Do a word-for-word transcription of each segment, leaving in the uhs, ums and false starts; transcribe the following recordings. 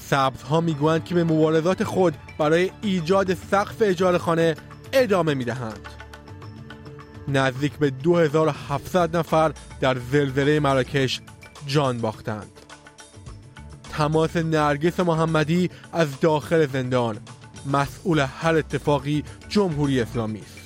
سبزها میگویند که به مبارزات خود برای ایجاد سقف اجاره خانه ادامه میدهند. نزدیک به دو هزار و هفتصد نفر در زلزله مراکش جان باختند. تماس نرگس محمدی از داخل زندان: مسئول هر اتفاقی جمهوری اسلامی است.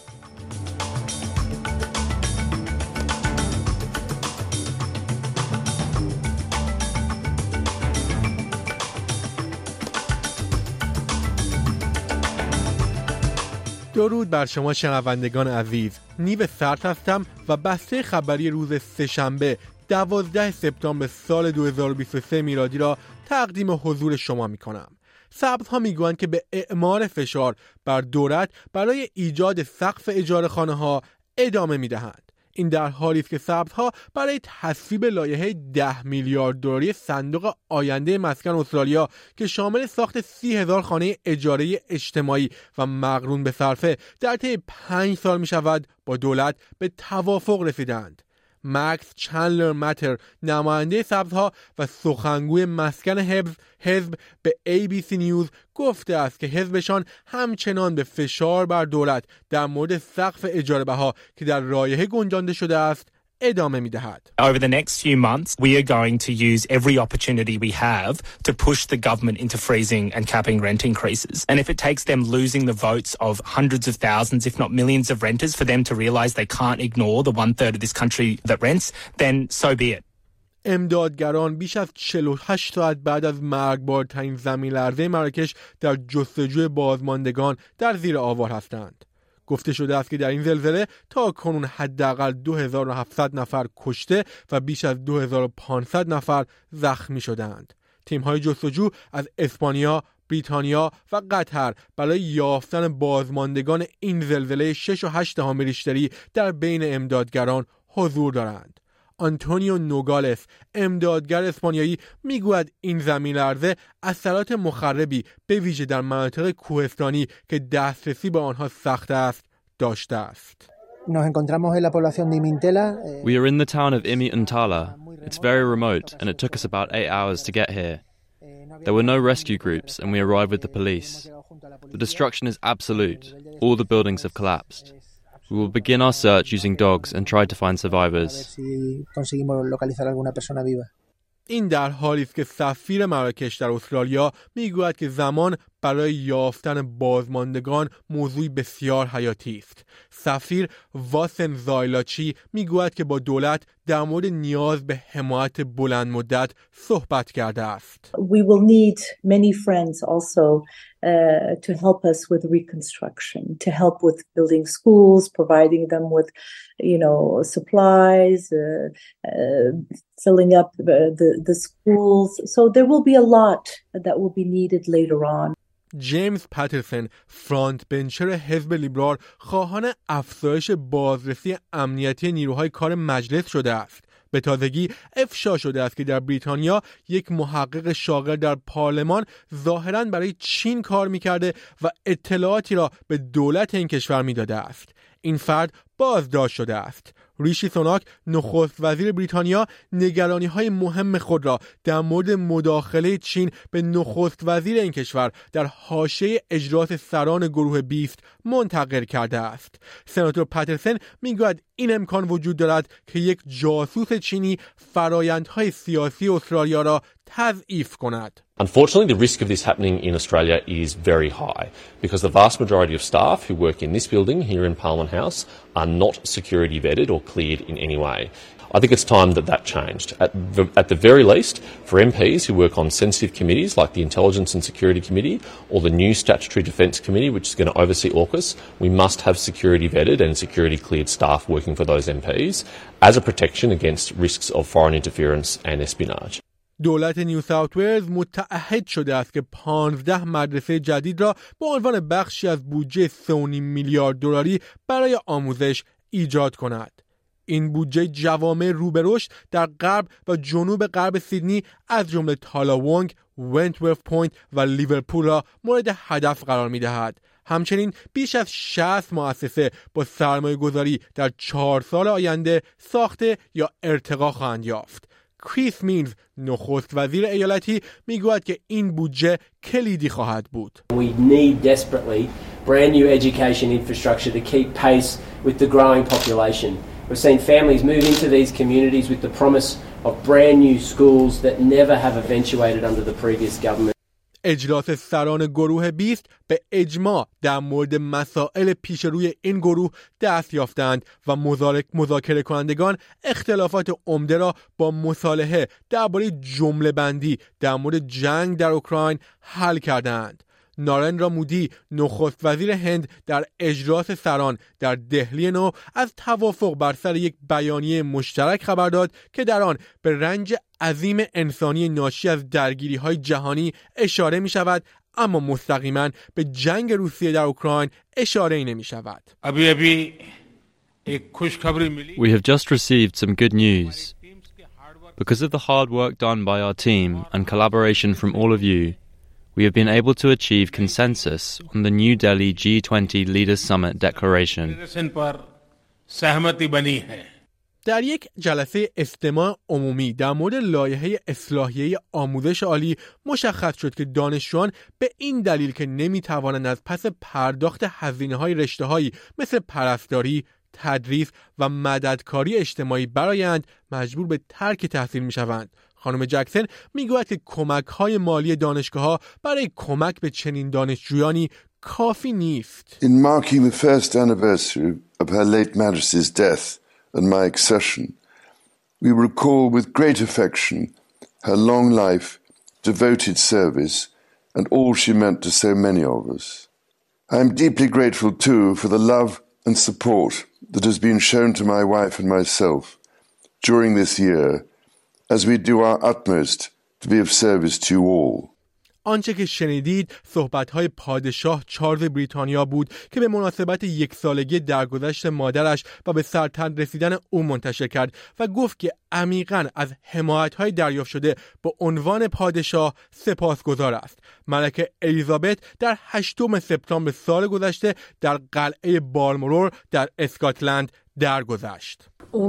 درود بر شما شنوندگان عزیز. نیو سرد هستم و بسته خبری روز سه‌شنبه دوازده سپتامبر سال دو هزار و بیست و سه میلادی را تقدیم حضور شما می کنم. سبزها می گویند که به اعمال فشار بر دولت برای ایجاد سقف اجاره خانه ها ادامه می دهند. این در حالی است که سبزها برای تصویب لایحه ده میلیارد دلاری صندوق آینده مسکن استرالیا که شامل ساخت سی هزار خانه اجاره اجتماعی و مقرون به صرفه در طی پنج سال می شود با دولت به توافق رسیدند. مکس چندلر ماتر، نماینده سبزها و سخنگوی مسکن حزب حزب به ای بی سی نیوز گفته است که حزبشان همچنان به فشار بر دولت در مورد سقف اجاره بها که در لایحه گنجانده شده است ادامه می‌دهد. Over the next few months, we are going to use every opportunity we have to push the government into freezing and capping rent increases. And if it takes them losing the votes of hundreds of thousands, if not millions of renters for them to realize they can't ignore the one third of this country that rents, then so be it. امدادگران بیش از چهل و هشت ساعت بعد از مرگبارترین زمین لرزه مراکش در جستجوی بازماندگان در زیر آوار هستند. گفته شده است که در این زلزله تا کنون حداقل دو هزار و هفتصد نفر کشته و بیش از دو هزار و پانصد نفر زخمی شدند. تیم‌های جستجو از اسپانیا، بریتانیا و قطر برای یافتن بازماندگان این زلزله شش و هشت دهم ریشتری در بین امدادگران حضور دارند. آنتونیو نوگالس، امدادگر اسپانیایی، میگوید این زمین لرزه اثرات مخربی به ویژه در مناطق کوهستانی که دسترسی به آنها سخت است داشته است. We are in the town of Imi-Intala. It's very remote and it took us about eight hours to get here. There were no rescue groups and we arrived with the police. The destruction is absolute. All the buildings have collapsed. We will begin our search using dogs and try to find survivors. این در حالی است که سفیر مراکش در استرالیا میگوید که زمان برای یافتن بازماندگان موضوعی بسیار حیاتی است. سفیر واسن زایلاچی میگوید که با دولت در مورد نیاز به حمایت بلند مدت صحبت کرده است. We will need many friends also uh, to help us with reconstruction, to help with building schools, providing them with, you know, supplies, uh, uh, filling up the, the, the schools. So there will be a lot that will be needed later on. جیمز پاترسون، فرانت بنچر حزب لیبرال، خواهان افزایش بازرسی امنیتی نیروهای کار مجلس شده است. به تازگی افشا شده است که در بریتانیا یک محقق شاغل در پارلمان ظاهراً برای چین کار می‌کرده و اطلاعاتی را به دولت این کشور می‌داده است. این فرد بازداشت شده است. ریشی سوناک، نخست وزیر بریتانیا، نگرانی‌های مهم خود را در مورد مداخله چین به نخست وزیر این کشور در حاشیه اجلاس سران گروه بیست منتقل کرده است. سناتور پاترسون میگوید این امکان وجود دارد که یک جاسوس چینی فرایندهای سیاسی استرالیا را تضعیف کند. Unfortunately, the risk of this happening in Australia is very high because the vast majority of staff who work in this building here in Parliament House are not security vetted or cleared in any way. I think it's time that that changed. At the, at the very least, for M Ps who work on sensitive committees like the Intelligence and Security Committee or the new Statutory Defence Committee, which is going to oversee AUKUS, we must have security vetted and security cleared staff working for those M Ps as a protection against risks of foreign interference and espionage. دولت نیو ساوت ولز متعهد شده است که پانزده مدرسه جدید را به عنوان بخشی از بودجه سه و نیم میلیارد دلاری برای آموزش ایجاد کند. این بودجه جوامع رو به رشد در غرب و جنوب غرب سیدنی از جمله تالاوانگ، ونتورث پوینت و لیورپول را مورد هدف قرار می‌دهد. همچنین بیش از شصت مؤسسه با سرمایه گذاری در چهار سال آینده ساخته یا ارتقا خواهند یافت. کریس مینز نخست وزیر ایالتی میگوید که این بودجه کلیدی خواهد بود. We need desperately brand new education infrastructure to keep pace with the growing population. We've seen families move into these communities with the promise of brand new schools that never have eventuated under the previous government. اجلاس سران گروه بیست به اجماع در مورد مسائل پیش روی این گروه دست یافتند و مذاکره کنندگان اختلافات عمده را با مصالحه درباره جمله بندی در مورد جنگ در اوکراین حل کردند. نارندرا مودی نخست وزیر هند در اجلاس سران در دهلی نو از توافق بر سر یک بیانیه مشترک خبر داد که در آن به رنج عظیم انسانی ناشی از درگیری‌های جهانی اشاره می‌شود، اما مستقیما به جنگ روسیه در اوکراین اشاره نمی‌شود. We have just received some good news. Because of the hard work done by our team and collaboration from all of you, we have been able to achieve consensus on the New Delhi G twenty Leaders Summit Declaration. در یک جلسه استماع عمومی در مورد لایحه اصلاحیه آموزش عالی مشخص شد که دانشجویان به این دلیل که نمی‌توانند از پس پرداخت هزینه‌های رشته‌هایی مثل پرستاری، تدریس و مددکاری اجتماعی برآیند مجبور به ترک تحصیل می‌شوند. خانم جکسن میگوید که کمک‌های مالی دانشگاه‌ها برای کمک به چنین دانشجویانی کافی نیست. In marking the first anniversary of her late Majesty's death and my accession, we recall with great affection her long life, devoted service, and all she meant to so many of us. I am deeply grateful too for the love and support that has been shown to my wife and myself during this year, as we do our utmost to be of service to you all. آنچه که شنیدید صحبت‌های پادشاه چارلز بریتانیا بود که به مناسبت یک سالگی درگذشت مادرش و به سرطان رسیدن او منتشر کرد و گفت که عمیقاً از حمایت‌های دریافت شده به عنوان پادشاه سپاسگزار است. ملکه الیزابت در هشتم سپتامبر سال گذشته در قلعه بالمورور در اسکاتلند درگذشت.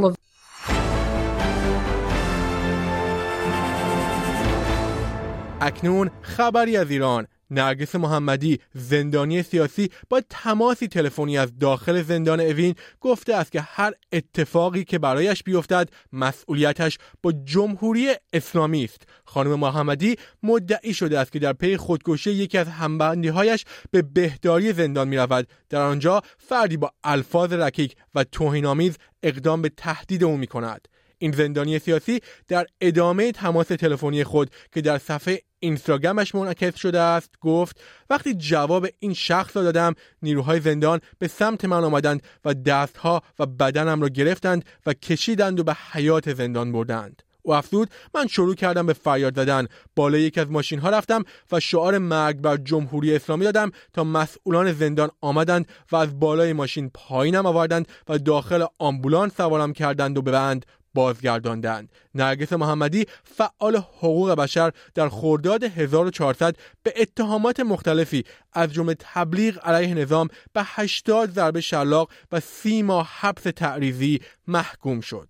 اکنون خبری از ایران. نرگس محمدی زندانی سیاسی با تماسی تلفنی از داخل زندان اوین گفته است که هر اتفاقی که برایش بیفتد مسئولیتش با جمهوری اسلامی است. خانم محمدی مدعی شده است که در پی خودکشی یکی از همبندی‌هایش به بهداری زندان می‌رود. در آنجا فردی با الفاظ رکیک و توهین‌آمیز اقدام به تهدید او می‌کند. این زندانی سیاسی در ادامه تماس تلفنی خود که در صفحه اینستاگرامش منعکس شده است گفت وقتی جواب این شخص را دادم نیروهای زندان به سمت من آمدند و دستها و بدنم را گرفتند و کشیدند و به حیاط زندان بردند. او افزود من شروع کردم به فریاد زدن، بالای یک از ماشین ها رفتم و شعار مرگ بر جمهوری اسلامی دادم تا مسئولان زندان آمدند و از بالای ماشین پایینم آوردند و داخل آمبولانس سوارم کردند و به بند بازگرداندند. نرگس محمدی فعال حقوق بشر در خرداد هزار و چهارصد به اتهامات مختلفی از جمله تبلیغ علیه نظام به هشتاد ضربه شلاق و سی ماه حبس تعریضی محکوم شد.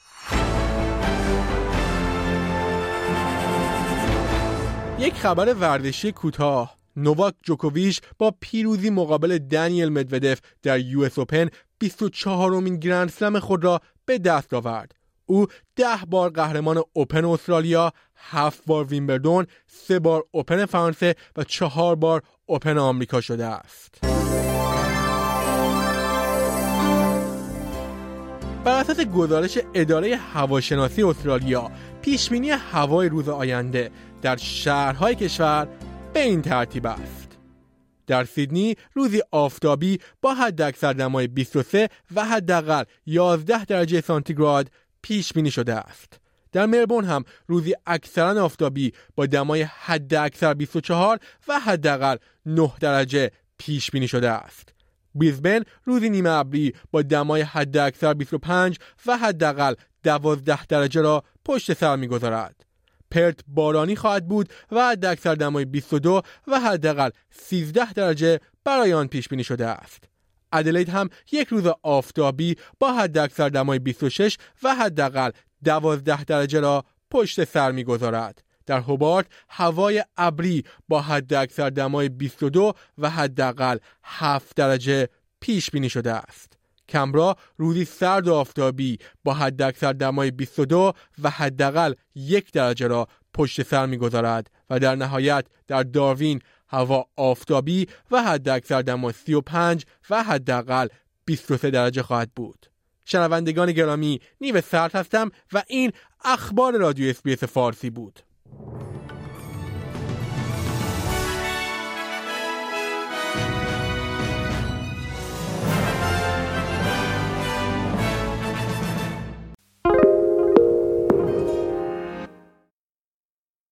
یک خبر ورزشی کوتاه. نوواک جوکوویچ با پیروزی مقابل دانیل مدودف در یو اس اوپن بیست و چهارمین گرند اسلم خود را به دست آورد. او ده بار قهرمان اوپن استرالیا، هفت بار ویمبلدون، سه بار اوپن فرانسه و چهار بار اوپن آمریکا شده است. بر اساس گزارش اداره هواشناسی استرالیا، پیشبینی هوای روز آینده در شهرهای کشور به این ترتیب است. در سیدنی روزی آفتابی با حداکثر دمای بیست و سه و حداقل یازده درجه سانتیگراد پیش بینی شده است. در ملبورن هم روزی اکثرا آفتابی با دمای حداکثر بیست و چهار و حداقل نه درجه پیش بینی شده است. بریزبن روزی نیمه ابری با دمای حداکثر بیست و پنج و حداقل دوازده درجه را پشت سر می‌گذارد. پرت بارانی خواهد بود و حداکثر دمای بیست و دو و حداقل سیزده درجه برای آن پیش بینی شده است. ادلید هم یک روز آفتابی با حداکثر دمای بیست و شش و حداقل دوازده درجه را پشت سر می‌گذارد. در هوبارت هوای ابری با حداکثر دمای بیست و دو و حداقل هفت درجه پیش بینی شده است. کمبرا روزی سرد و آفتابی با حداکثر دمای بیست و دو و حداقل یک درجه را پشت سر می‌گذارد و در نهایت در داروین هوا آفتابی و حداکثر دمای سی و پنج و حداقل بیست و سه درجه خواهد بود. شنوندگان گرامی، نیو سرد هستم و این اخبار رادیو اس بی اس فارسی بود.